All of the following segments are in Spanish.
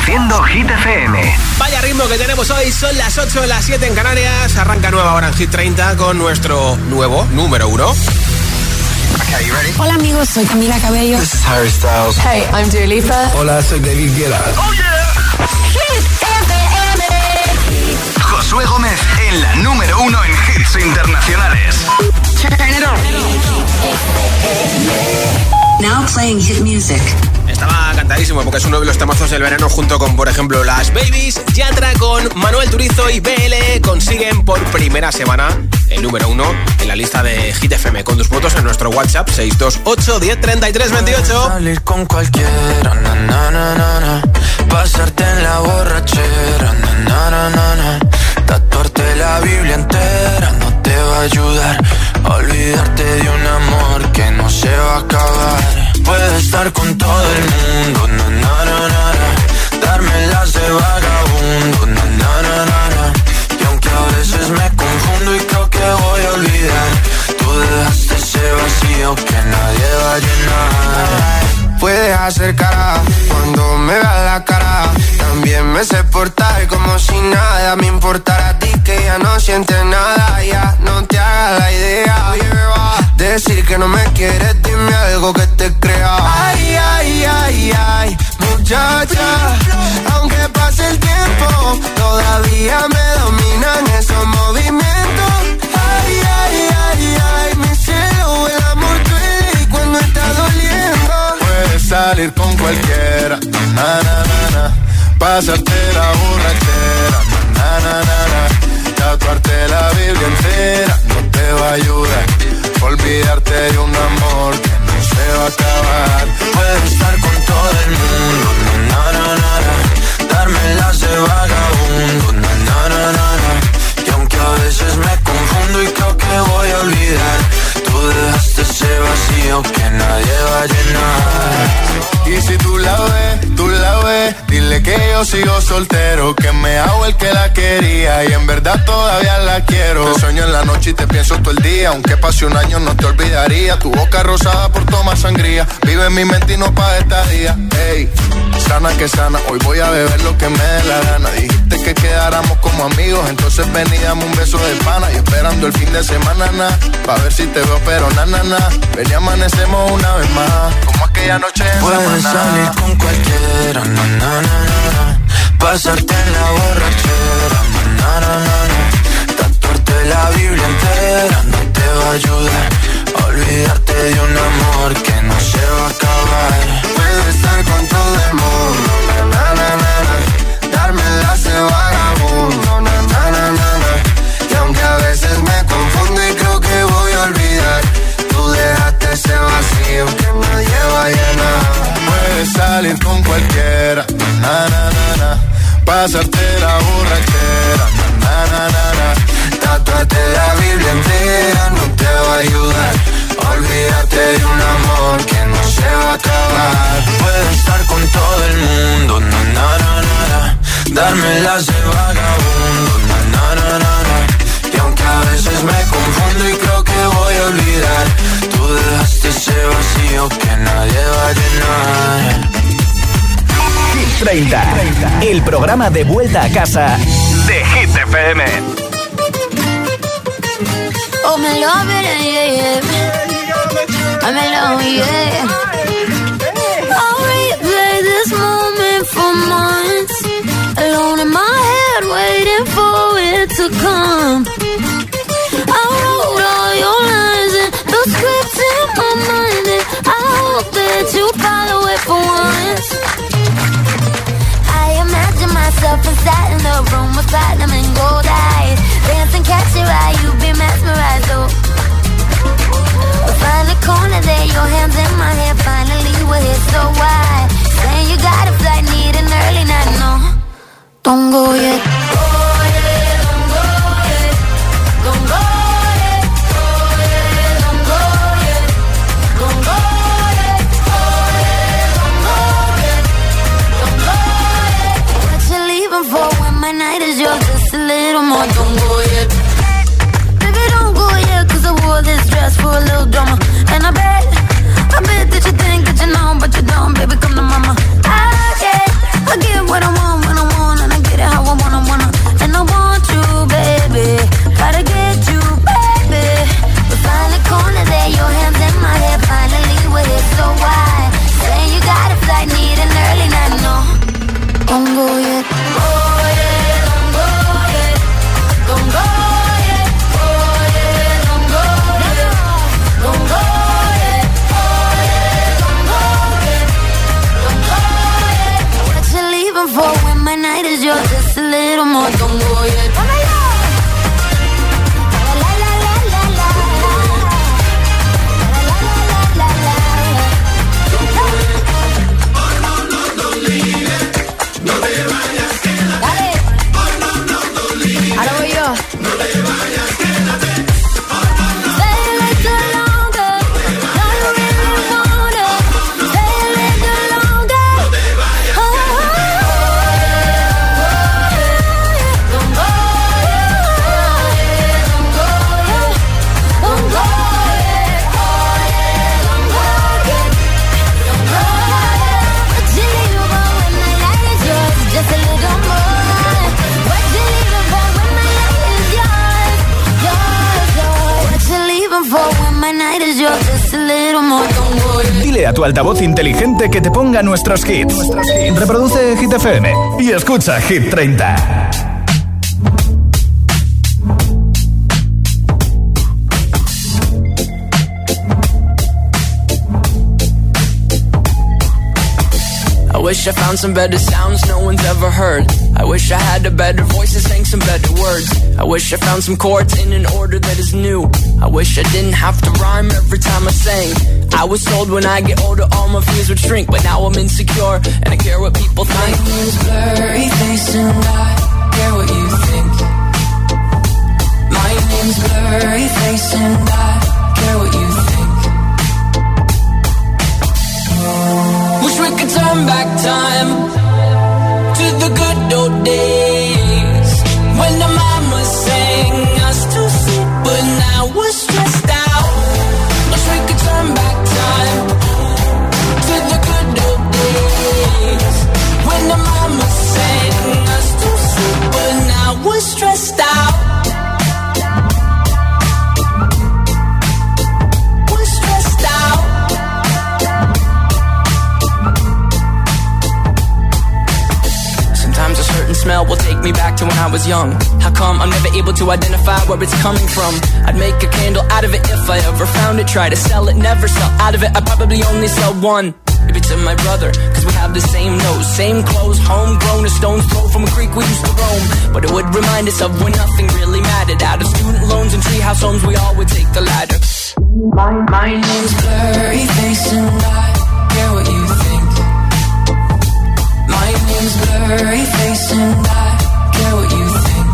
Produciendo Hit FM. Vaya ritmo que tenemos hoy, son las 8, las 7 en Canarias. Arranca nueva hora en Hit 30 con nuestro nuevo número 1. Okay, you ready? Hola amigos, soy Camila Cabello. This is Harry Styles. Hey, I'm Dua Lipa. Hola, soy David Guetta. Oh yeah. Hit FM. Josué Gómez en la número 1 en hits internacionales. Turn it on. Now playing hit music. Estaba cantadísimo porque es uno de los temazos del verano junto con, por ejemplo, Las Babies. Yatra con Manuel Turizo y BL consiguen por primera semana el número 1 en la lista de Hit FM. Con tus votos en nuestro WhatsApp 628 10 33 28. Salir con cualquiera, na, na, na, na, na. Pasarte en la borrachera, na, na, na, na, na. Tatuarte la Biblia entera no te va a ayudar. Olvidarte de un amor que no se va a acabar. Puedes estar con todo el mundo, na, na, na, na, na. Darme las de vagabundo, na, na, na, na, na. Y aunque a veces me confundo y creo que voy a olvidar, tú dejaste ese vacío que nadie va a llenar. Puedes hacer cara cuando me veas la cara. También me sé portar como si nada me importara a ti, que ya no sientes nada. Ya no te hagas la idea. Decir que no me quieres, dime algo que te crea. Ay, ay, ay, ay, muchacha. Aunque pase el tiempo, todavía me dominan esos movimientos. Ay, ay, ay, ay, mi cielo, el amor duele y cuando está doliendo. Puedes salir con cualquiera, na, na, na, na. Pasarte la borrachera, na, na, na, na. Tatuarte la Biblia entera no te va a ayudar. Olvidarte de un amor que no se va a acabar. Puedes estar con todo el mundo, na, na, na, na. Darme las de vagabundo, na, na, na, na, na. Y aunque a veces me confundo y creo que voy a olvidar, tú dejaste ese vacío que nadie va a llenar. Y si tú la ves, dile que yo sigo soltero, que me hago el que la quería y en verdad todavía la quiero. Te sueño en la noche y te pienso todo el día, aunque pase un año no te olvidaría. Tu boca rosada por tomar sangría, vive en mi mente y no pa' esta día. Ey, sana que sana, hoy voy a beber lo que me dé la gana. Dijiste que quedáramos como amigos, entonces ven y dame un beso de pana. Y esperando el fin de semana, na, pa' ver si te veo, pero na, na, na. Ven y amanecemos una vez más, como aquella noche en Puedes salir con cualquiera, na, na, na, na. Pasarte en la borrachera, na, na, na, na. Tatuarte la Biblia entera no te va a ayudar. Olvidarte de un amor que no se va a acabar. Puedes estar con todo el mundo, na, na, na, na. Darme las de vagabundo, na, na, na, na, na. Y aunque a veces me confundo y creo que voy a olvidar, tú dejaste ese vacío que nadie va a llenar. Puedes salir con cualquiera, na, na, na, na. Pasarte la borrachera, na, na, na, na. Tatuarte la Biblia entera no te va a ayudar. Olvídate de un amor que no se va a acabar. Puedes estar con todo el mundo, na, na, na, na, na. Darme las de vagabundo, na, na, na, na, na. Y aunque a veces me confundo y creo que voy a olvidar, tú dejaste ese vacío que nadie va a llenar. Hit 30, el programa de vuelta a casa de Hit FM. Oh, me love it, yeah, yeah. I'm in love, yeah. I'll replay this moment for months, alone in my head, waiting for it to come. I wrote all your lines and those scripts in my mind, and I hope that you follow it for once. I imagine myself inside in the room with platinum and gold eyes, dancing, catch your eye, you be mesmerized, oh. Find a corner there, your hands in my hair, finally we're here, so why? Saying you got a flight, need an early night, no, don't go yet. Oh yeah, don't go yet, don't go yet, oh yeah, don't go yet, don't go yet, oh yeah, don't go yet, don't go yet. What you leaving for when my night is yours, just a little more, don't go yet. Baby, don't go yet, cause I wore this dress for a little drama. And I bet that you think that you know, but you don't, baby, come to mama. I get what I want. leaving for when my night is yours? Just a little more, don't go yet. Oh my God. Dile a tu altavoz inteligente que te ponga nuestros hits. Reproduce Hit FM y escucha Hit 30. I wish I found some better sounds no one's ever heard. I wish I had a better voice and sang some better words. I wish I found some chords in an order that is new. I wish I didn't have to rhyme every time I sang. I was told when I get older all my fears would shrink, but now I'm insecure and I care what people think. My name's blurry face and I care what you think. My name's blurry face and I care what you think. Wish we could turn back time to the good old days when the mama sang us to sleep, but now we're stressed out. Wish we could turn back time to the good old days when the mama sang us to sleep, but now we're stressed out. Smell will take me back to when I was young. How come I'm never able to identify where it's coming from? I'd make a candle out of it if I ever found it. Try to sell it, never sell out of it. I'd probably only sell one. Maybe to my brother, cause we have the same nose, same clothes, homegrown, a stone's throw from a creek we used to roam. But it would remind us of when nothing really mattered. Out of student loans and treehouse homes, we all would take the ladder. My name's Blurry Face and I care what you think. My name's Blurry Face and I care what you think.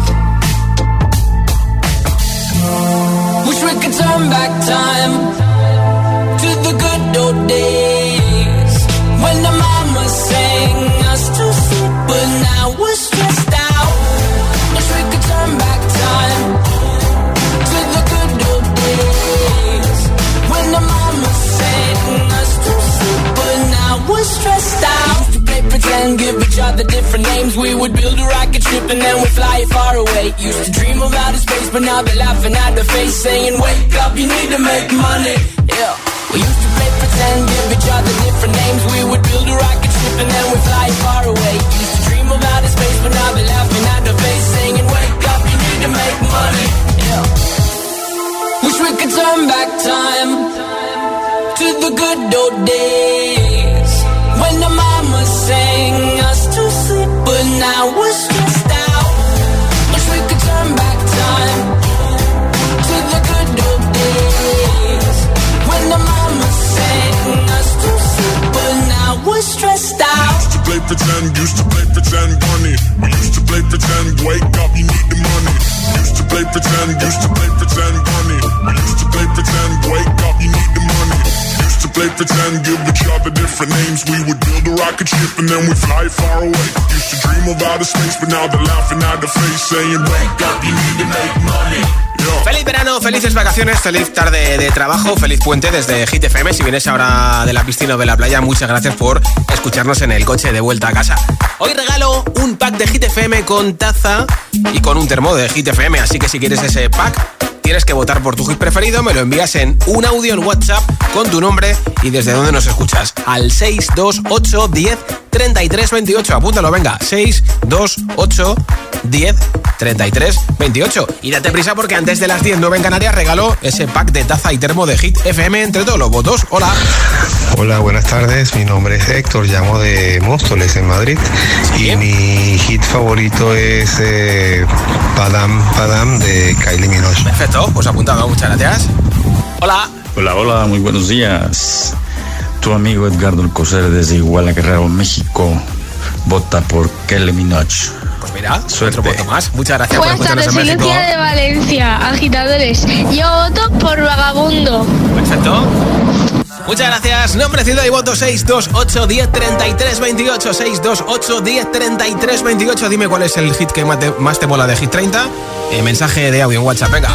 Wish we could turn back time to the good old days when the mama sang us to sleep, but now we're stressed out. Wish we could turn back time to the good old days when the mama sang us to sleep, but now we're stressed out. Pretend, give each other different names. We would build a rocket ship and then we'd fly far away. Used to dream of outer space, but now they're laughing at the face, saying, wake up, you need to make money. Yeah. We used to play pretend, give each other different names. We would build a rocket ship and then we'd fly far away. Used to dream of outer space, but now they're laughing at the face, saying, wake up, you need to make money. Yeah. Wish we could turn back time to the good old days when the mama sang us to sleep, but now we're stressed out. Wish we could turn back time to the good old days when the mama sang us to sleep, but now we're stressed out. Used to play pretend, bunny. We used to play pretend, wake up, you need the money. Used to play pretend, bunny. We used to play pretend, wake up, you need the money. Play pretend, give each other different names. We would build a rocket ship and then we'd fly far away. Used to dream of outer space, but now they're laughing at the face, saying, wake up, you need to make money. Feliz verano, felices vacaciones, feliz tarde de trabajo, feliz puente desde Hit FM. Si vienes ahora de la piscina o de la playa, muchas gracias por escucharnos en el coche de vuelta a casa. Hoy regalo un pack de Hit FM con taza y con un termo de Hit FM, así que si quieres ese pack, Tienes que votar por tu hit preferido, me lo envías en un audio en WhatsApp con tu nombre y desde dónde nos escuchas. Al 628 10 33 28. Apúntalo, venga. 628 10 33 28. Y date prisa porque antes de las 10, 9 en Canarias, regalo ese pack de taza y termo de Hit FM entre todos los votos. Hola. Hola, buenas tardes. Mi nombre es Héctor, llamo de Móstoles, en Madrid. ¿Sí? Y mi hit favorito es Padam Padam de Kylie Minogue. Perfecto, pues apuntado. Muchas gracias. Hola. Hola, muy buenos días. Tu amigo Edgardo Alcocer desde Iguala, Guerrero, México. Vota por Kylie Minogue. Pues mira, suerte. Otro voto más. Muchas gracias. Buenas tardes, Silencia de Valencia, agitadores. Yo voto por Vagabundo. Perfecto. Muchas gracias. Nombre, ciudad y voto 628 10 33 28. 628 10 33 28. Dime cuál es el hit que más te mola de Hit 30. Mensaje de audio en WhatsApp, venga.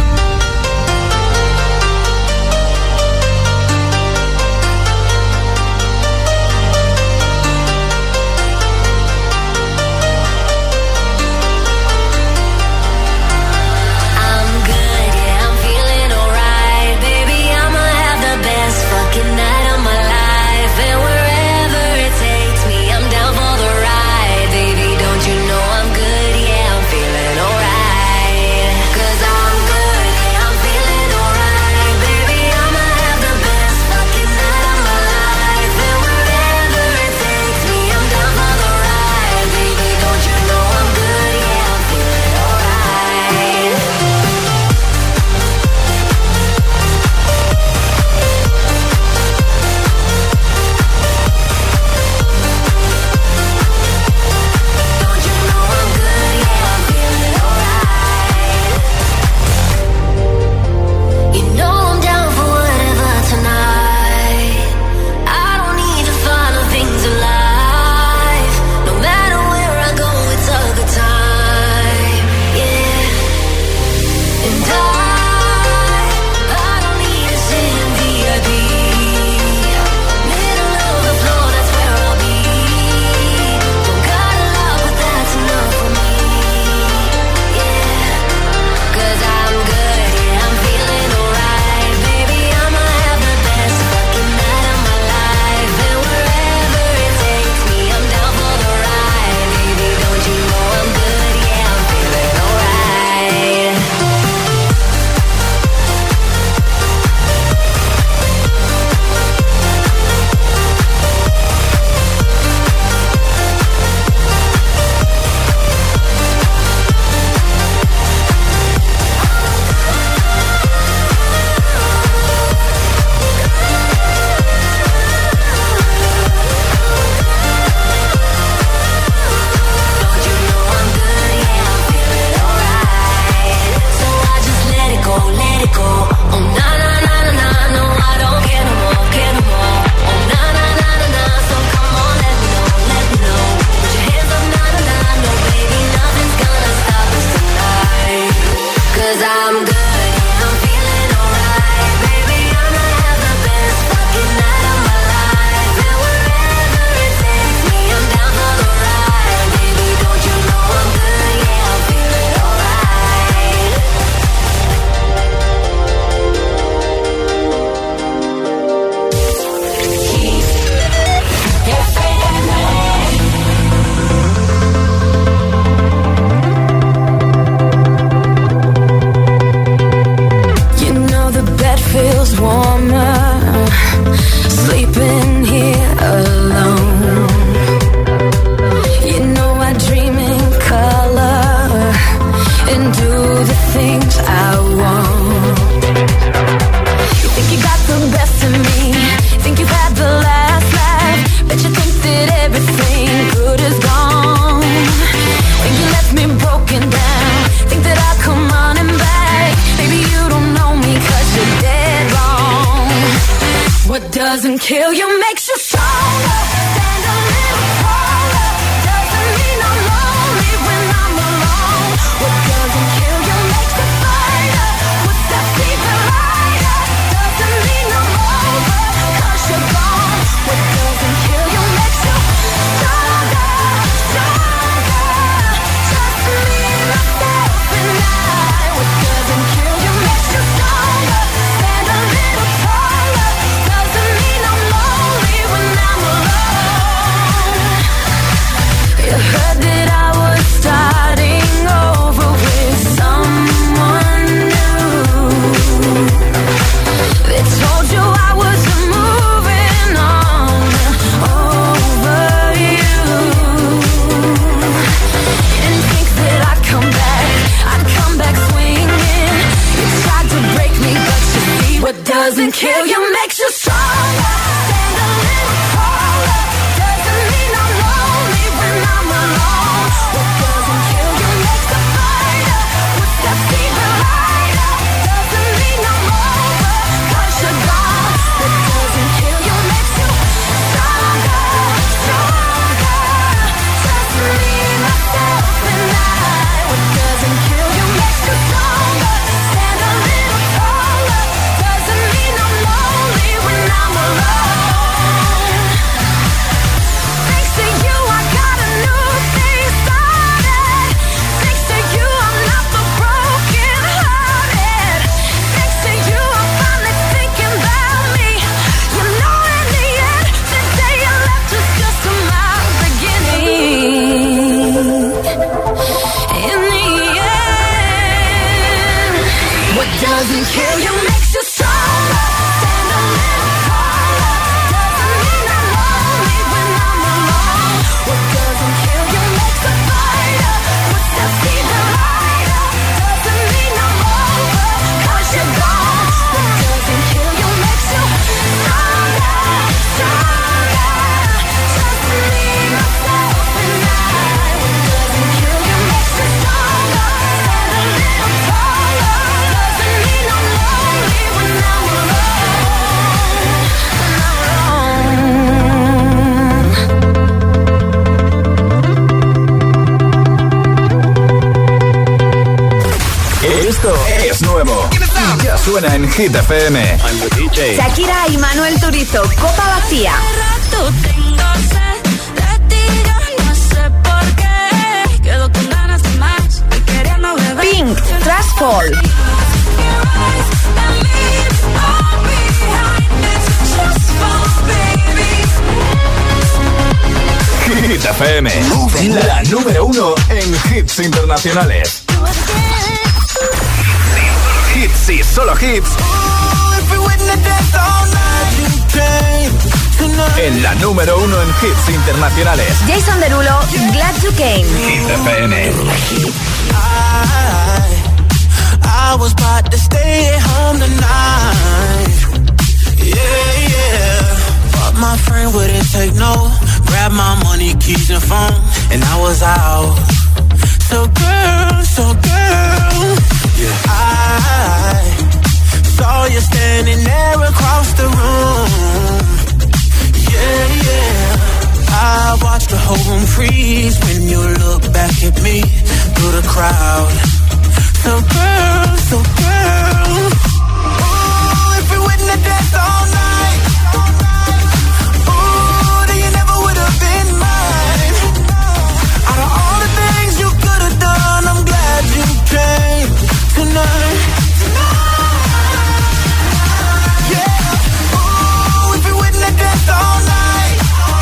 doesn't kill you makes you stronger. Stand a little taller. Doesn't mean I'm lonely when I'm alone. What doesn't kill you makes you fighter. What's that secret lighter? Doesn't mean I'm over, 'cause you're gone. What doesn't kill you makes you stronger, stronger. Just me, myself, and I. What doesn't kill you makes you suena en Hit FM. Shakira y Manuel Turizo, Copa Vacía. Pink, Trash Fall. Hit FM, la número 1 en hits internacionales. Hits y solo hits. En la número 1 en hits internacionales. Jason Derulo, Glad You Came. Hit FM. I was about to stay at home tonight. Yeah. But my friend wouldn't take no. Grab my money, keys and phone, and I was out. So girl, yeah. I saw you standing there across the room. Yeah. I watched the whole room freeze when you look back at me through the crowd. So girl, ooh, if we wouldn't have danced all night, ooh, then you never would have been mine. Out of all the things you could have done, I'm glad you came tonight. Yeah, ooh, if we wouldn't have danced all night,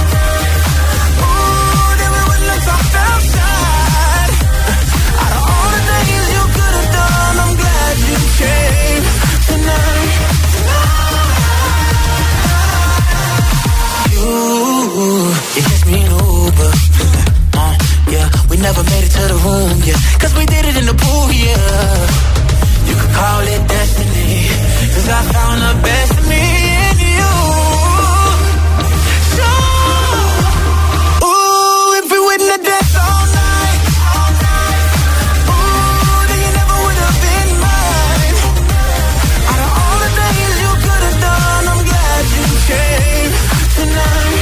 ooh, then we wouldn't have talked outside. Out of all the things you could have done, I'm glad you came tonight. You hit me in Uber. Yeah, we never made it to the room, yeah. Cause we did it in the pool, yeah. You could call it destiny. Cause I found the best in me in you. So, ooh, if we wouldn't have danced all night, ooh, then you never would have been mine. Out of all the things you could have done, I'm glad you came tonight.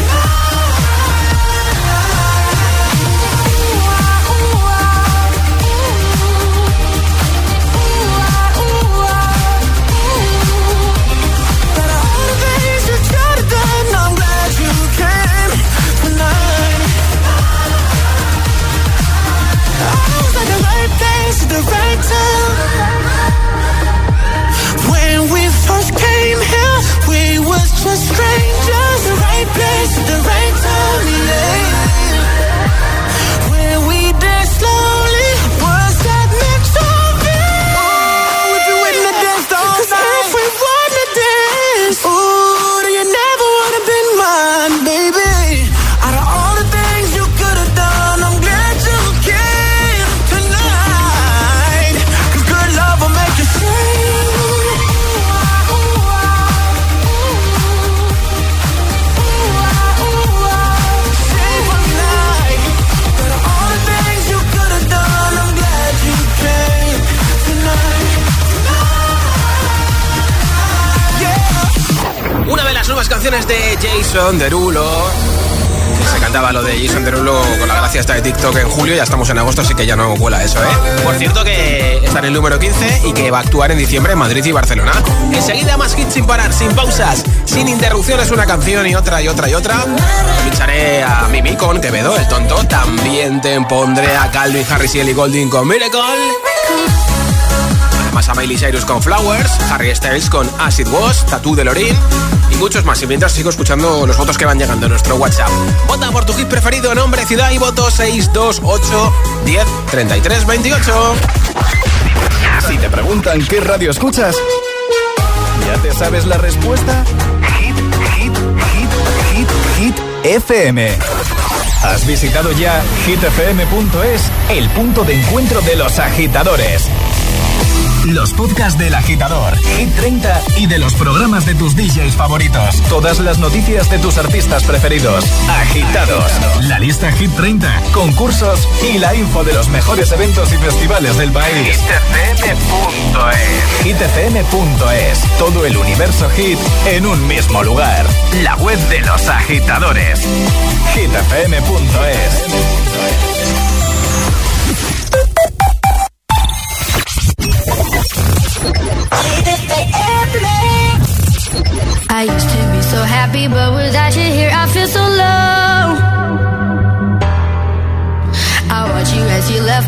The right time. When we first came here, we was just strangers. The right place at the right time, yeah. When we danced slowly, was that meant to be? Oh, if you wouldn't have danced all night, 'cause if we wouldn't have danced, ooh, then you never would have been mine, baby. Out of all the things you could have done, I'm glad you came tonight. 'Cause good love will make you sing. Sing one night. Out of all the things you could have done, I'm glad you came tonight. Yeah. Una de las nuevas canciones de Jason Derulo. Se cantaba lo de Jason Derulo con la gracia esta de TikTok en julio. Ya estamos en agosto, así que ya no cuela eso, ¿eh? Por cierto que está en el número 15 y que va a actuar en diciembre en Madrid y Barcelona. Enseguida más hits sin parar, sin pausas, sin interrupciones, una canción y otra y otra y otra. Ficharé a Mimi con Quevedo, el tonto. También te pondré a Calvin Harris y Ellie Goulding con Miracle. Además a Miley Cyrus con Flowers, Harry Styles con As It Was, Tattoo de Lorin y muchos más. Y mientras sigo escuchando los votos que van llegando en nuestro WhatsApp. Vota por tu hit preferido, nombre, ciudad y voto 628 10 33 28. Si te preguntan qué radio escuchas, ¿ya te sabes la respuesta? Hit FM. ¿Has visitado ya hitfm.es, el punto de encuentro de los agitadores? Los podcasts del Agitador, Hit 30 y de los programas de tus DJs favoritos. Todas las noticias de tus artistas preferidos. Agitados. La lista Hit 30, concursos y la info de los mejores eventos y festivales del país. hitfm.es. hitfm.es. Todo el universo Hit en un mismo lugar. La web de los agitadores. hitfm.es.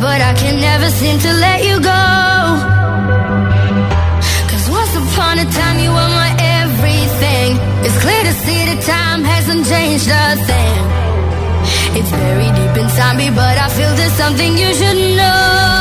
but I can never seem to let you go. 'Cause once upon a time you were my everything. It's clear to see that time hasn't changed a thing. It's buried deep inside me, but I feel there's something you should know.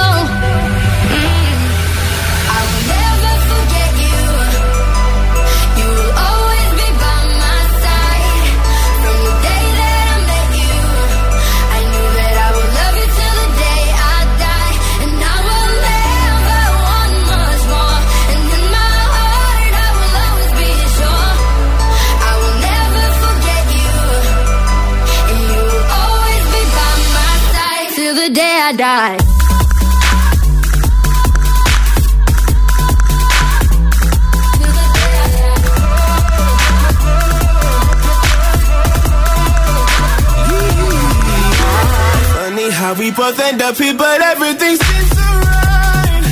I will never forget you. You will always be by my side. From the day that I met you, I knew that I would love you till the day I die. And I will never want much more. And in my heart I will always be sure. I will never forget you. And you will always be by my side till the day I die. Funny how we both end up here, but everything seems so right.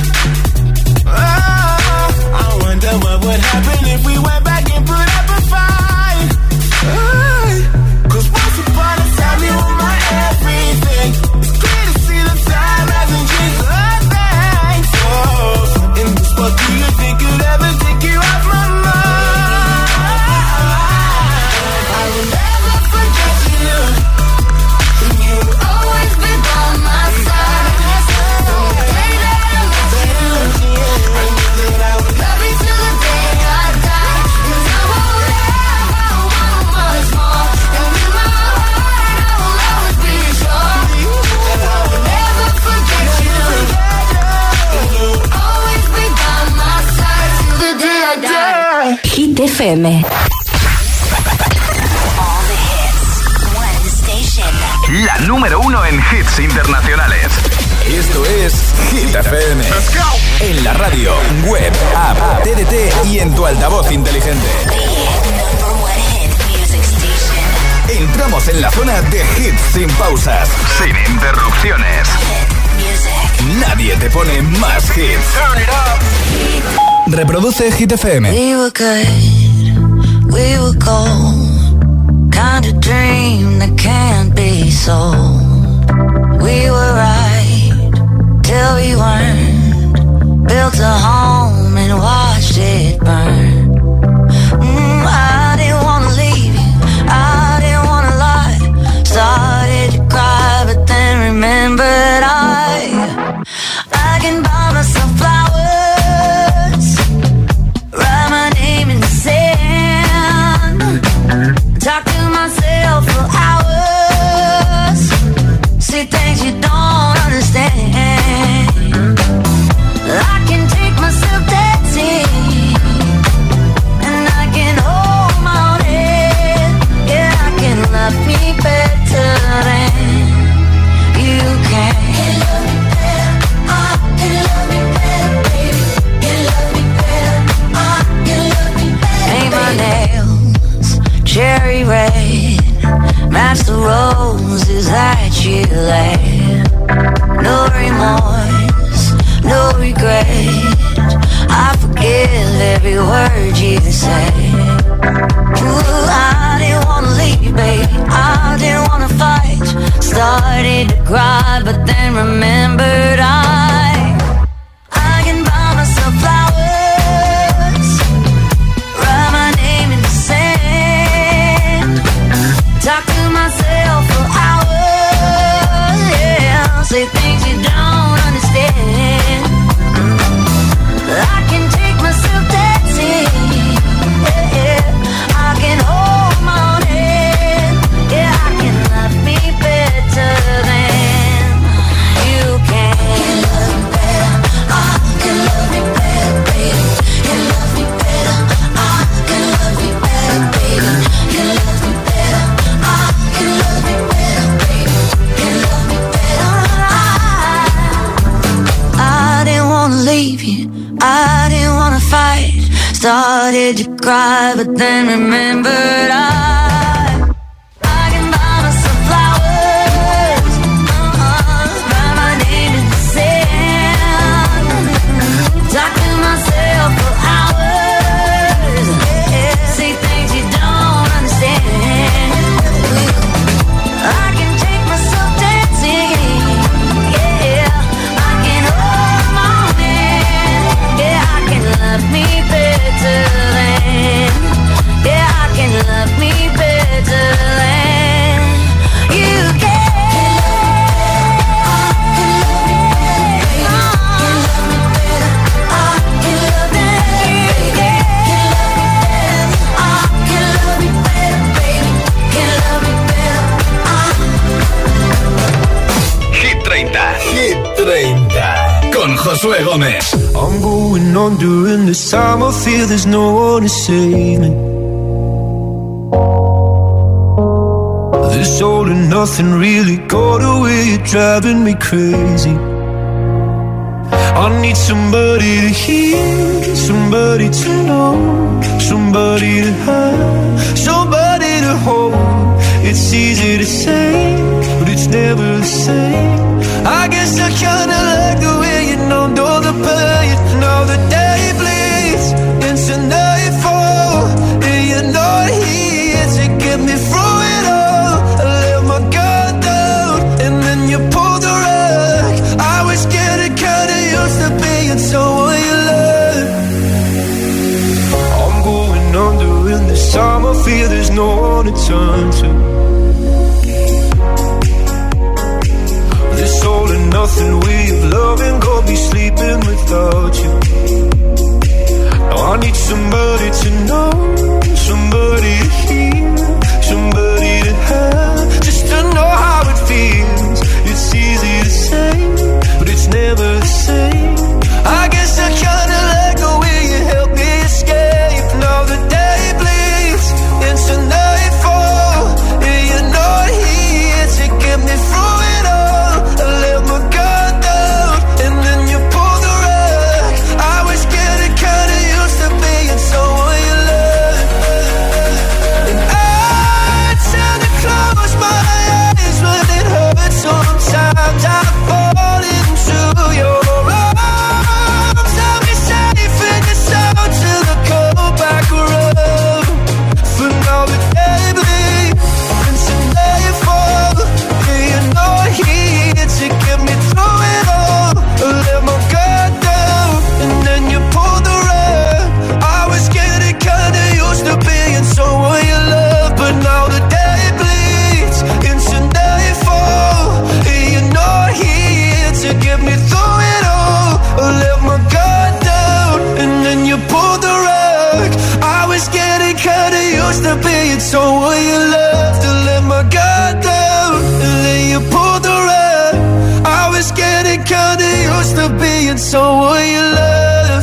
Oh, I wonder what would happen if we went back and put up a fight. Oh, 'cause once upon a time you were my everything. It's clear to see the time hasn't changed a thing. So, in this world, do you think you'd ever take you off my mind? I will never forget you. You will always be by my side. From the day that I met you, I knew that I would love you till the day I die. And I will never want much more. And in my heart I will always be sure. And I will never forget you. And you will always be by my side till the day I die. Hit FM. La número 1 en hits internacionales. Esto es Hit FM. En la radio, web, app, TDT y en tu altavoz inteligente. Entramos en la zona de hits sin pausas, sin interrupciones. Nadie te pone más hits. Reproduce Hit FM. We were good, we were gold. Kind of dream that can't be sold. We were right till we weren't. Built a home and watched it burn. I didn't wanna leave you, I didn't wanna lie. Started to cry, but then remembered I can buy myself flowers, write my name in the sand, talk to myself for hours, see things you don't understand. I can take myself dancing, and I can hold my own head. Yeah, I can love me better than you can. Can love me better, can love me better, baby. Can love me better, can love me better. Paint my nails cherry red, match the roses that you laid. No remorse, no regret, I forgive every word you say. Ooh, I didn't wanna leave, babe, I didn't wanna fight. Started to cry, but then remembered I can buy myself flowers, write my name in the sand, talk to myself for hours, yeah, say things you don't understand. I can take myself dancing, yeah, I can hold my own hand, yeah, I can love me better than you can. Can love me better, can love me better, baby. Can love me better, can love me better, baby. Can love me better, can love me better, baby. Can love me better. I didn't wanna leave you, I didn't wanna fight. Started to cry, but then remembered I can buy myself flowers, write my name in the sand, talk to myself for hours, yeah, say things you don't understand. I can take myself dancing, yeah, Hit 30 con Josué Gómez. I'm going on during this time. I feel there's no one to save me. This all and nothing really got away. You're driving me crazy. I need somebody to hear, somebody to know, somebody to have, somebody to hold. It's easy to say, but it's never the same. I guess I kinda like the way you know the pain. Now the day bleeds into nightfall, and you're not here to get me through it all. I let my guard down, and then you pulled the rug. I was getting kinda used to being someone you love. I'm going under in this time. I feel there's no one to turn to. This all and nothing way of loving, go be sleeping without you. Now I need somebody to know, somebody to hear, somebody to have, just to know how it feels. It's easy to say, but it's never the same. I guess I kinda like the way you help me escape. Now the day bleeds into nightfall, and you're not here to get me through it all. I let my guard down, and then you pulled the rug. I was getting kinda used to being someone you love. And I tend to close my eyes when it hurts. Sometimes I fall into your arms. I'll be safe in the sound till I come back around. For now the day bleeds into nightfall, and you're not here to get me through it all. I let my guard down, and then you pulled the rug. I was getting kinda used to being someone you love, but now the day bleeds into nightfall, and you're not here to get me through it all. I let my guard down, and then you pulled the rug. I was getting kinda used to being someone you love. To let my guard down, and then you pulled the rug. I was getting kinda used to being someone you love.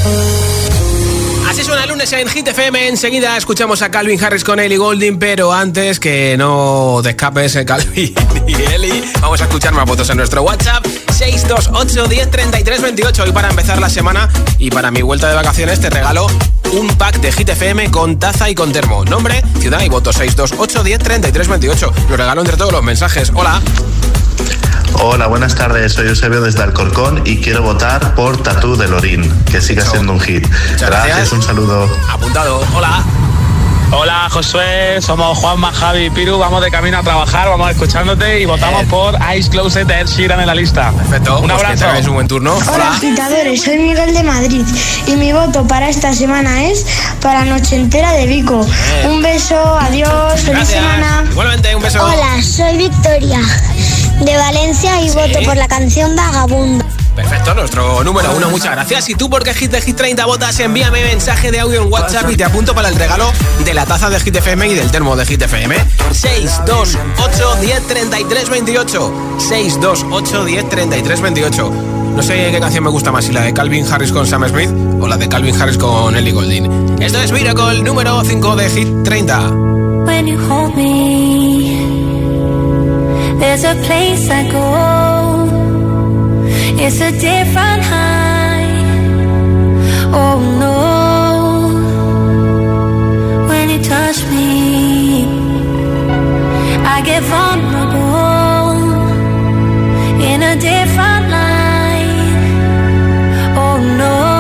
Así suena el lunes en Hit FM. Enseguida escuchamos a Calvin Harris con Ellie Goulding, pero antes que no te escapes, Calvin y Ellie, vamos a escuchar más votos en nuestro WhatsApp 628 10 33 28. Y para empezar la semana y para mi vuelta de vacaciones te regalo un pack de Hit FM con taza y con termo. Nombre, ciudad y voto 628 10 33 28. Lo regalo entre todos los mensajes. Hola. Hola, buenas tardes, soy Eusebio desde Alcorcón y quiero votar por Tatú de Lorín, que siga siendo un hit. Gracias, un saludo. Apuntado, hola. Hola Josué, somos Juanma, Javi y Piru, vamos de camino a trabajar, vamos escuchándote y votamos por Eyes Closed de Ed Sheeran en la lista. Perfecto, un abrazo. Que tengáis un buen turno. Hola agitadores, soy Miguel de Madrid y mi voto para esta semana es para Noche Entera de Vico. Un beso, adiós, feliz semana. Igualmente, un beso. Hola, soy Victoria de Valencia y voto por la canción Vagabundo. Perfecto, nuestro número 1, muchas gracias. ¿Y tú por qué Hit de Hit 30 votas? Envíame mensaje de audio en WhatsApp y te apunto para el regalo de la taza de Hit FM y del termo de Hit FM. 628 10 33 28. 628 10 33 28. No sé qué canción me gusta más, si la de Calvin Harris con Sam Smith o la de Calvin Harris con Ellie Goulding. Esto es Miracle, número 5 de Hit 30. When you hold me, there's a place I go. It's a different high. Oh no. When you touch me, I get vulnerable in a different light. Oh no.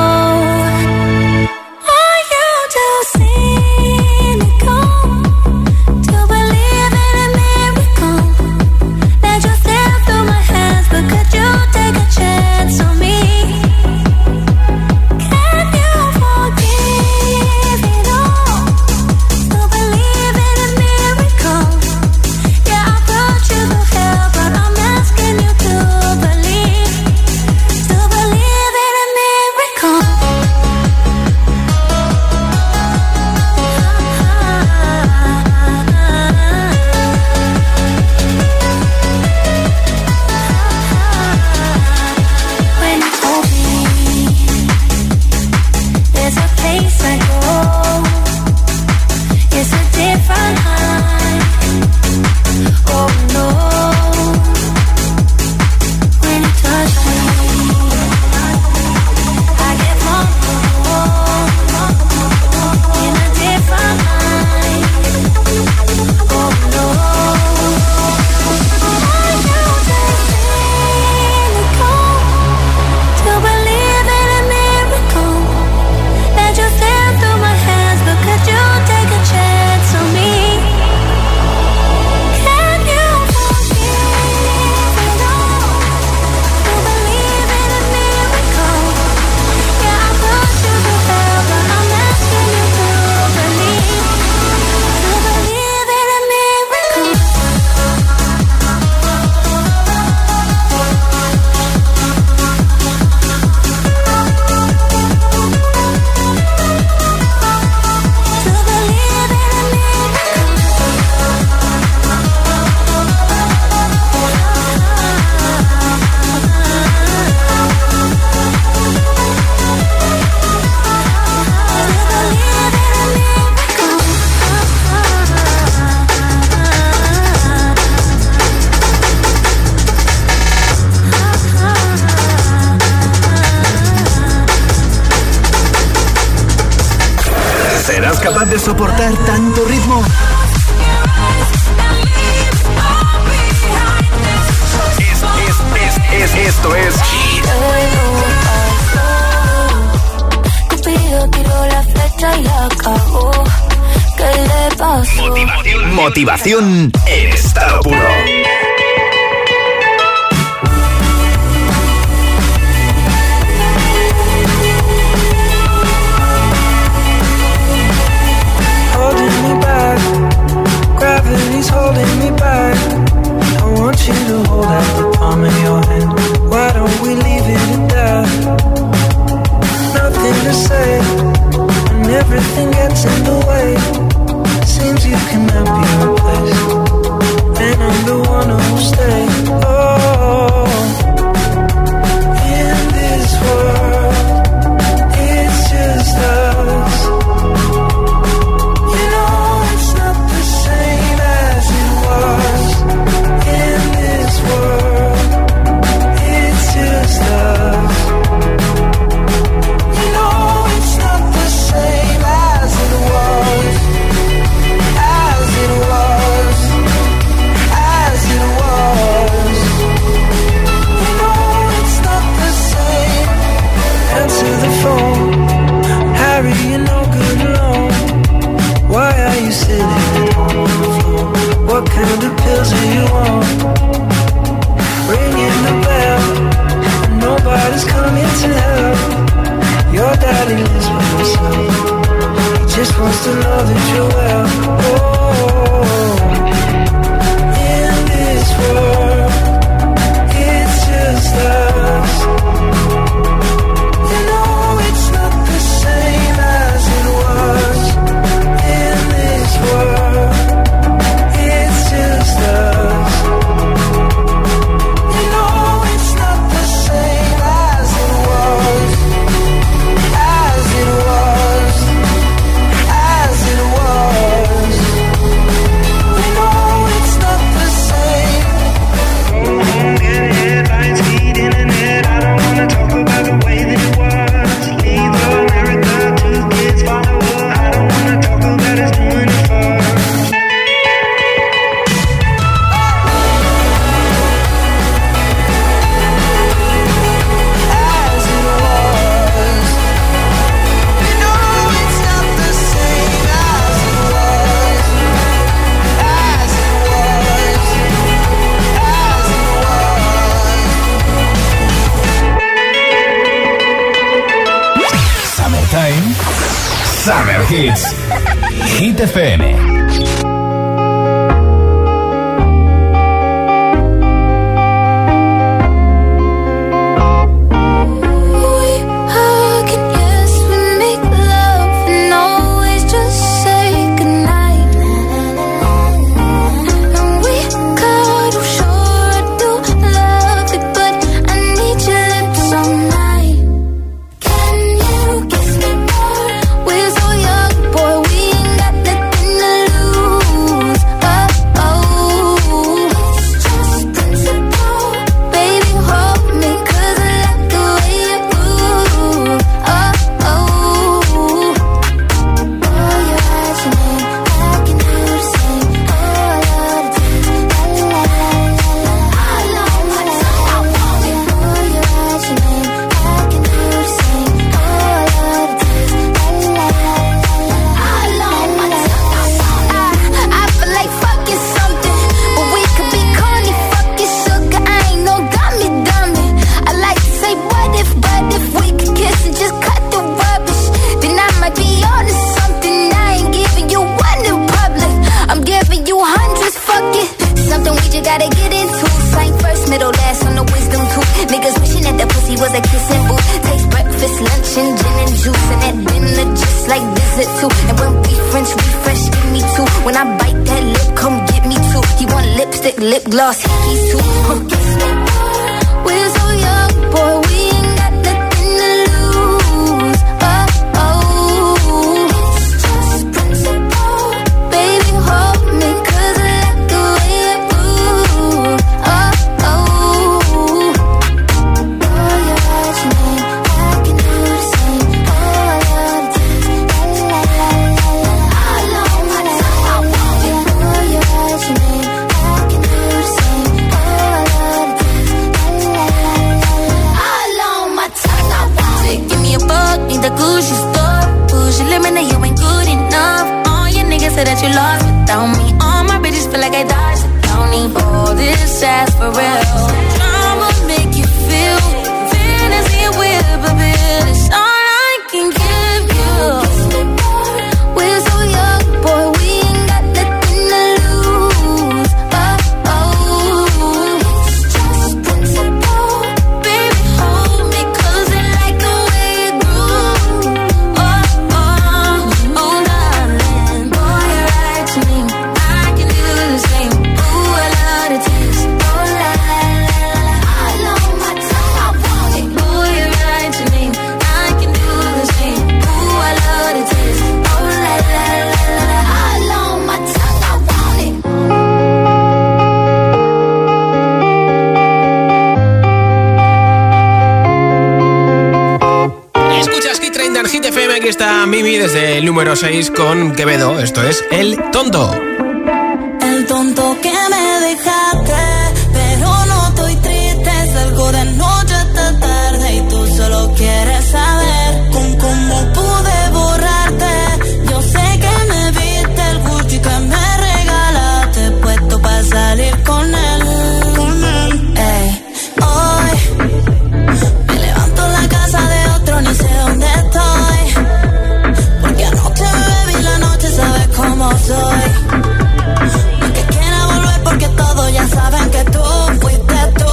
Are you too cynical to believe in a miracle that just slipped through my hands? capaz de soportar tanto ritmo? Esto es Cupido tiró la flecha y la cagó. ¿Qué le pasó? Motivación en estado puro. Holding me back, gravity's holding me back. I want you to hold out the palm of your hand. Why don't we leave it at that? Nothing to say, and everything gets in the way. Seems you cannot be replaced, and I'm the one who'll stay. Oh, in this world, it's just us. You know it's not the same as it was. In this world, it's just us. You know it's not the same as it was. As it was. As it was. You know it's not the same. Answer the phone. Harry, you're no good alone. Why are you sitting at home on the floor? What kind of pills are you on? Ringing the bell, and nobody's coming to help. Your daddy lives by himself. He just wants to know that you're well. Oh, in this world, it's just us. You know it's not the same as it was. In this world, it's just us. You know it's not the same as it was. As it was. As it was. You know it's not the same. Get headlines, feed internet. I don't wanna talk about the way that it was. Leave America, 2 kids follow her. I don't wanna talk about us doing it first. As it was. You know it's not the same as it was. As it was. As it was. Summertime, Summer Hits, Hit FM. We hug and yes, we make love and always just say goodnight. And we cuddle, sure I do love it, but I need your lips all night. Can you kiss me more? We're so young, boy, we ain't got nothing to lose. Oh, oh, it's just principle. Baby, hold me, 'cause I like the way you move. Oh, oh, oh, your eyes on me, I can do the same. Oh, I love to dance, la la la la la. I love my time, I want it. Oh, your eyes on me, I can do the same. Oh, I love to dance, la la la la la. I love my time, I want it. I feel like fucking something, but we could be corny, fucking sugar. I ain't no dummy. I like to say what if we could kiss and just cut the rubbish, then I might be on to something. I ain't giving you one in public, I'm giving you hundreds. Fuck it, something we just gotta get into. Same first, middle, last on the wisdom tooth. Niggas wishing that the pussy was a kissing booth. Takes breakfast, lunch, and gin and juice, and at dinner just like dessert too. And when we French refresh, give me two. When I bite that lip, come get me two. He want lipstick, lip gloss, hickeys too. Kiss me more. We're so young, boy, we ain't got nothing to lose. Oh, oh, it's just principle. Baby, hold me, 'cause I like the way you move. Oh, oh, oh, your eyes on me, I can do the same. Oh, I love to dance, la la la la la. lost without me. All my bitches feel like I dodged the county. All this ass for real. I'ma make you feel fantasy and weird, but baby, it's all I can give you. We're so young, boy, we ain't got nothing to lose. Oh, oh, it's just principle. Baby, hold me, 'cause I like the way you groove. Oh, oh, oh, darling, boy, you're right to me. I can do the same. Ooh, I love the taste. Oh, la, la, la, la, all on my tongue, I want it. Boy, you're right to me. I can do the same. Ooh, I love the taste. Oh, la, la, la, la, all on my tongue, I want it. Escuchas Hit 30 en Hit FM, aquí está Mimi desde el número 6 con Quevedo. Esto es El Tonto. El tonto que me dejaste, pero no estoy triste. Salgo de noche hasta tarde y tú solo quieres saber con cómo pude borrarte. Yo sé que me viste el Gucci que me regalaste, puesto para salir con él. Ey, hoy me levanto en la casa de otro, ni sé dónde estoy. Porque anoche me bebí la noche, sabes cómo soy. Que quiera volver porque todos ya saben que tú fuiste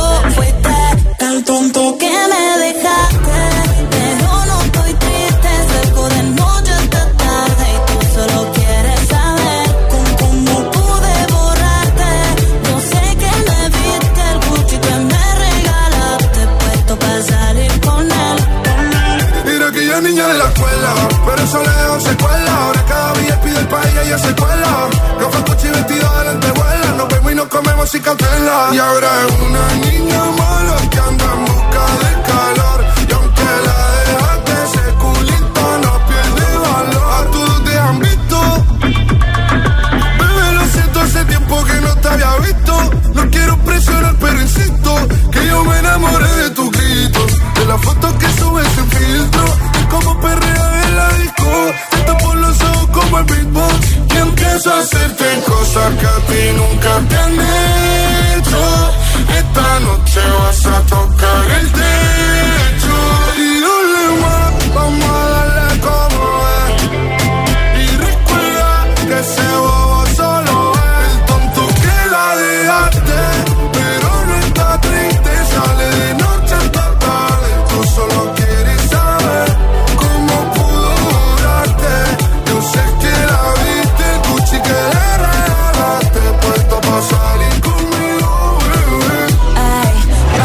el tonto que me dejaste. Pero no estoy triste, salgo de noche hasta tarde y tú solo quieres saber con cómo pude borrarte. Yo sé que me viste el Gucci que me regalaste, puesto para salir con él. Mira que ya niña de la escuela, pero eso le dejó secuela. Ahora cada día pide el país y ella se cuela. Ropa, coche y vestido de lentejuela. Nos vemos y nos comemos sin cautela. Y ahora es una niña mala que anda en busca de calor. Y aunque la dejaste, ese culito no pierde valor. A todos te han visto. Bebé, lo siento, hace tiempo que no te había visto. No quiero presionar, pero insisto que yo me enamoré de tu grito, de las fotos que subes sin filtro, y como perrea en la disco. Te tapo los ojos como el beatbox y empiezo a hacerte cosas que a ti nunca te han hecho. Esta noche vas a tocar el techo y dale más, vamos a darle como es. Y recuerda que ese bobo solo es el tonto que la dejaste, pero no está triste, sale de noche hasta tarde. Tú solo quieres saber cómo pudo durarte. Yo sé que la viste, el Gucci que le regalaste, puesto pa' salir conmigo, bebé. Ay,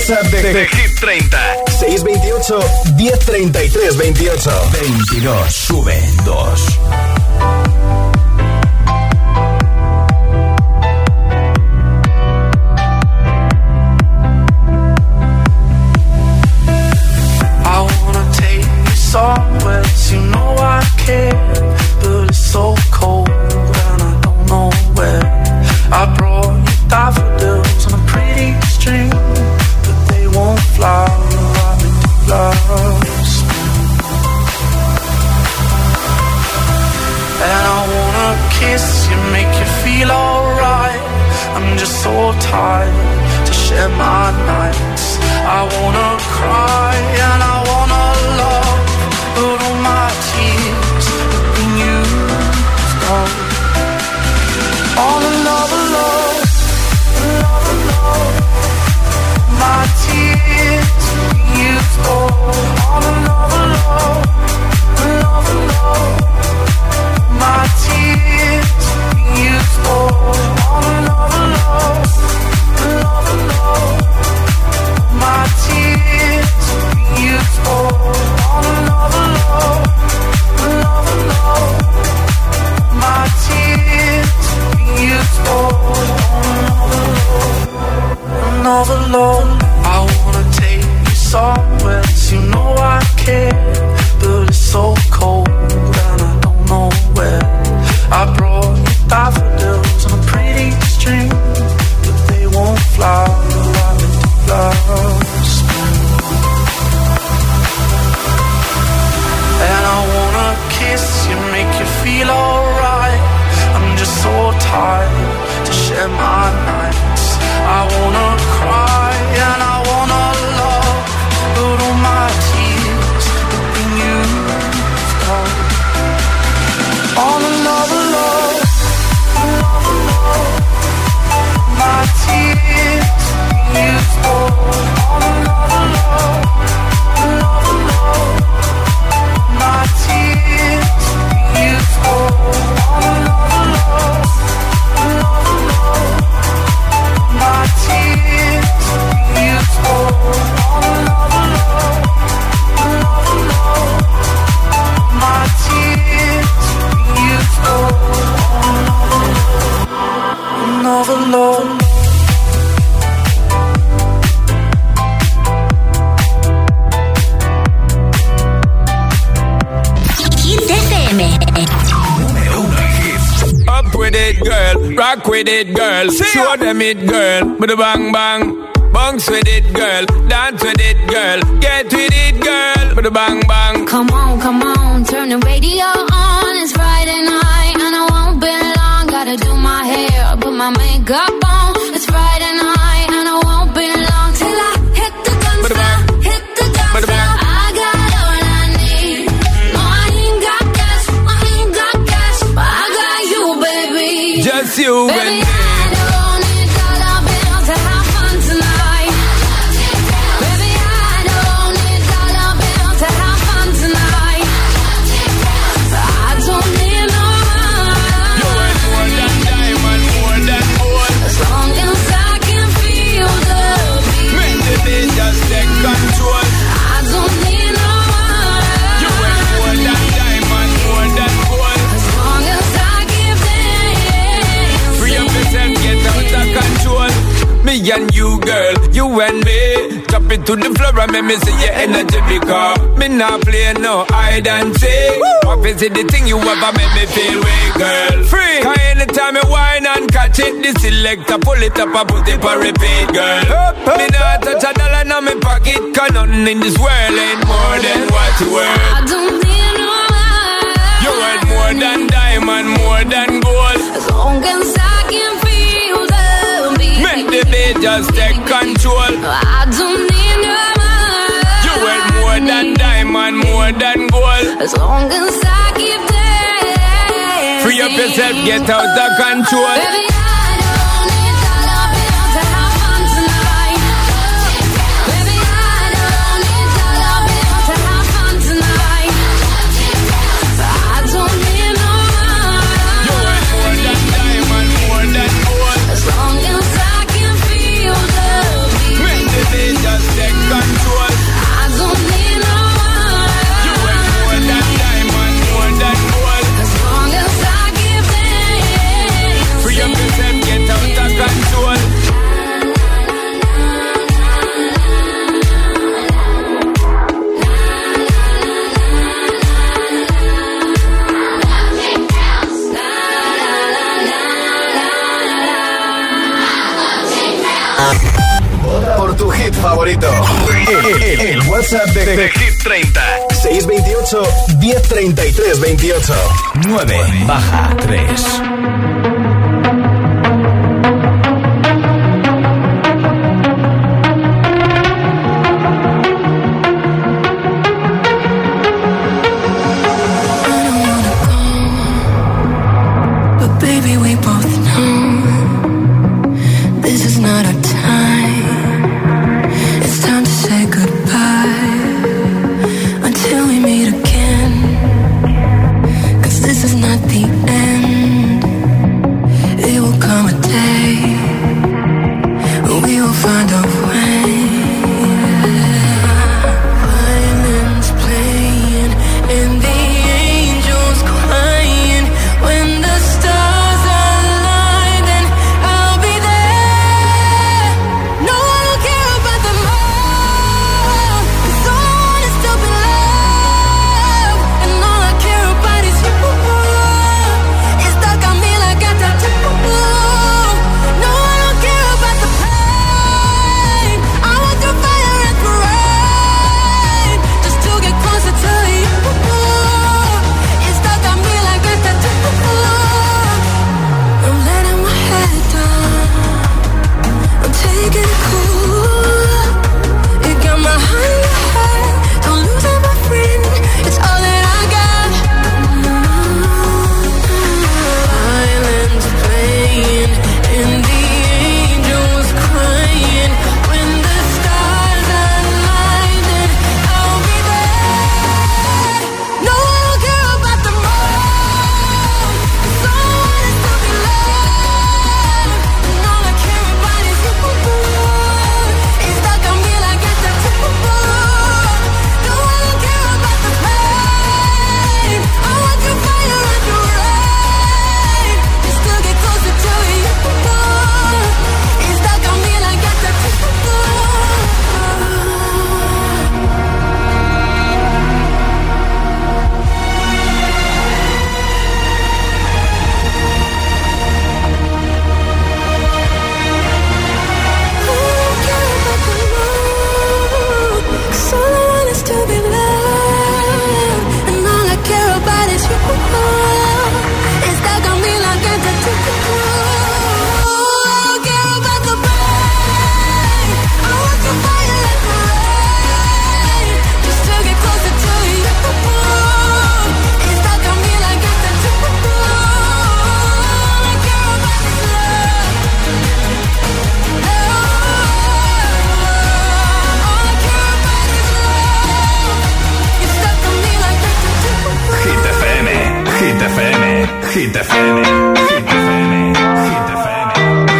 WhatsApp de Hit 30. 628 1033 28. 22, sube 2. Somewhere you know I care, but it's so cold and I don't know where. I brought you daffodils on a pretty string, but they won't fly like they do flowers. And I wanna kiss you, make you feel alright. I'm just so tired to share my nights. I wanna cry and I wanna love, but all my tears have been used up. All another love, another love. My tears have been used up. All another love, another love. My tears have been used up. All another love, another love. My tears have been used up. All another love, another love. My tears have been used up. Another love. I wanna take you somewhere you know I care, but it's so cold and I don't know where. I brought you daffodils on a pretty string, but they won't fly like they do flowers. And I wanna kiss you, make you feel alright. I'm just so tired to share my nights. I wanna cry and I wanna love, but all my tears have been used up. On another love, another love. My tears have been used up. On another love, another love. My tears have been used up. On another love, another love. My tears have been used up. On another love, another love. My tears have been used up. On another love. Up with it, girl. Rock with it, girl. Show them it, girl. With a bang bang. Bounce with it, girl. Dance with it, girl. Get with it, girl. With a bang bang. Come on, turn the radio on. It's Friday night and I won't be long. Gotta do my hair, put my makeup on. It's Friday night and I won't be long till I hit the dance floor, hit the dance floor. I got all I need. No, I ain't got cash, but I got you, baby. Just you baby, and me. I don't need dollar bills to have fun tonight. Baby, I don't need dollar bills to have fun tonight. I don't need no money. You ain't more than diamond, more than gold. As long as I can feel the beat. Make the beat just take control. I don't need no money. You ain't more than diamond, more than gold. As long as I give them. Free up yourself, get out of control. Me and you, girl, you and me. Drop it to the floor and make me see your energy, because me not play no hide and seek. What is it the thing you ever make me feel way, girl? Free. Cause anytime you whine and catch it, the selector pull it up and put it for repeat, girl. Me not touch a dollar in my pocket, cause nothing in this world ain't more than what you worth. I don't need no money. You worth more than diamond, more than gold. As long as I can feel the beat. Make the beat just take control. I don't need no money. You worth more than diamond, more than gold. As long as I keep dancing. Free up yourself, get out of control. Baby, I don't need dollar bills to have fun tonight. Baby, I don't need dollar bills to have fun tonight. I don't need no money. You worth more than diamond, more than gold. As long as I can feel the beat. Make the beat just favorito. El WhatsApp de Hit 30. 628 1033 28. 9 baja 3. Hit FM, Hit FM, Hit FM.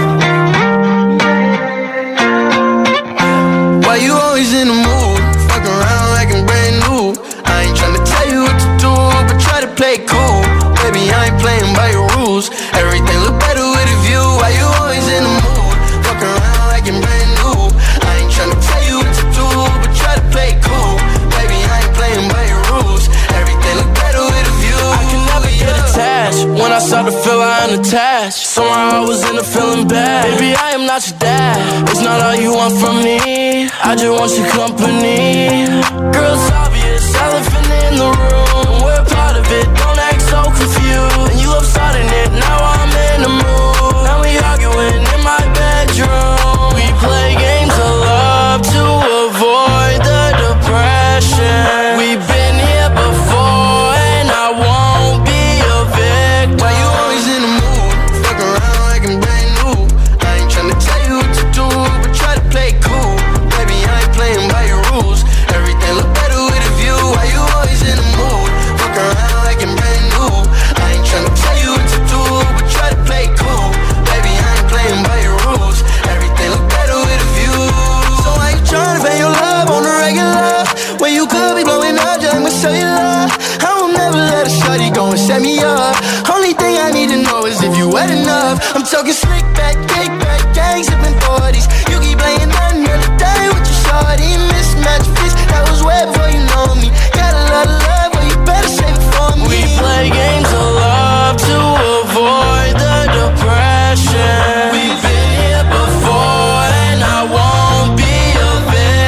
Why you always in the mood? Fuck around like I'm brand new. I ain't tryna tell you what to do, but try to play it cool. Baby, I ain't playing by your rules. Everything look better with a view. Why you always in the mood? Fuck around like I'm brand new. I ain't tryna tell you what to do, but try to play it cool. Baby, I ain't playing by your rules. Everything look better with a view. I can never get attached. When I start to feel I am attached, somehow I was in a feeling bad. Baby, I am not your dad. It's not all you want from me. I just want your company. Girl, it's obvious, elephant in the room. We're part of it, don't act so confused. And you love starting it, now I'm in the mood. Now we arguing in my bedroom. We play games of love to avoid the depression. We've been here before and I won't be a victim. Why you always in the mood? Fuck around like I'm brand new. I ain't tryna tell you what to do, but try to play it cool. Baby, I ain't playing by your rules. Everything look better with a view. Why you always in the mood? Fuck around like I'm brand new. I ain't tryna tell you what to do, but try to play it cool. Baby, I ain't playing by your rules. Everything look better with a view. So I ain't tryna pay your love on the regular, when you could be blowing up just with cellular. I will never let a shawty go and set me up. Only thing I need to know is if you wet enough. I'm talking slick back, kick back, gang sipping 40s. You keep playing another day with your shawty. Mismatch fits, that was way before you know me. Got a lot of love, but you better save it for me. We play games of love to avoid the depression. We've been here before and I won't be a victim.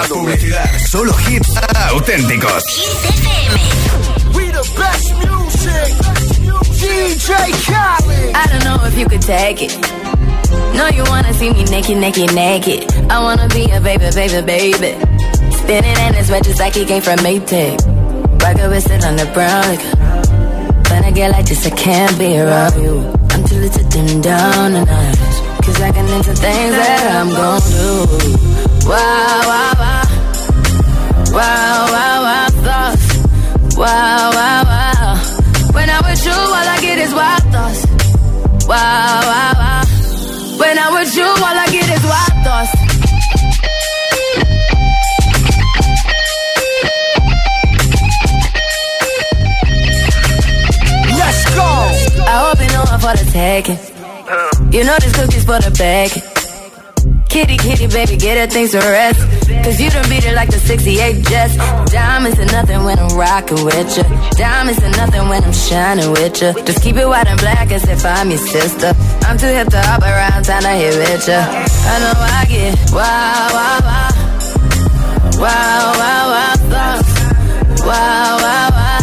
menos publicidad, solo hits auténticos. We the best music. DJ Khaled. I don't know if you could take it. No, you wanna see me naked, naked, naked. I wanna be a baby, baby, baby. Spinning in his red just like he came from Maytag. Rocket with it on the brown liquor. When I get like this, I can't be around you. I'm too little to dim down the night. Cause I can into things that I'm gon' do. Wow, wow, wow. Wow, wow, wow, thoughts. Wow, wow, wow. When I'm with you, all I get is wild thoughts. Wow, wow, wow. When I'm with you, all I get is wild thoughts. Let's go. I hope you know I'm for the taking. You know this cookie's for the bag. Kitty, kitty, baby, get her things to rest. Cause you done beat it like the 68 Jets. Diamonds are nothing when I'm rockin' with ya. Diamonds are nothing when I'm shining with ya. Just keep it white and black as if I'm your sister. I'm too hip to hop around, time to hit with ya. I know I get wow, wow, wow. Wow, wow, wow, thoughts. Wow, wow, wow.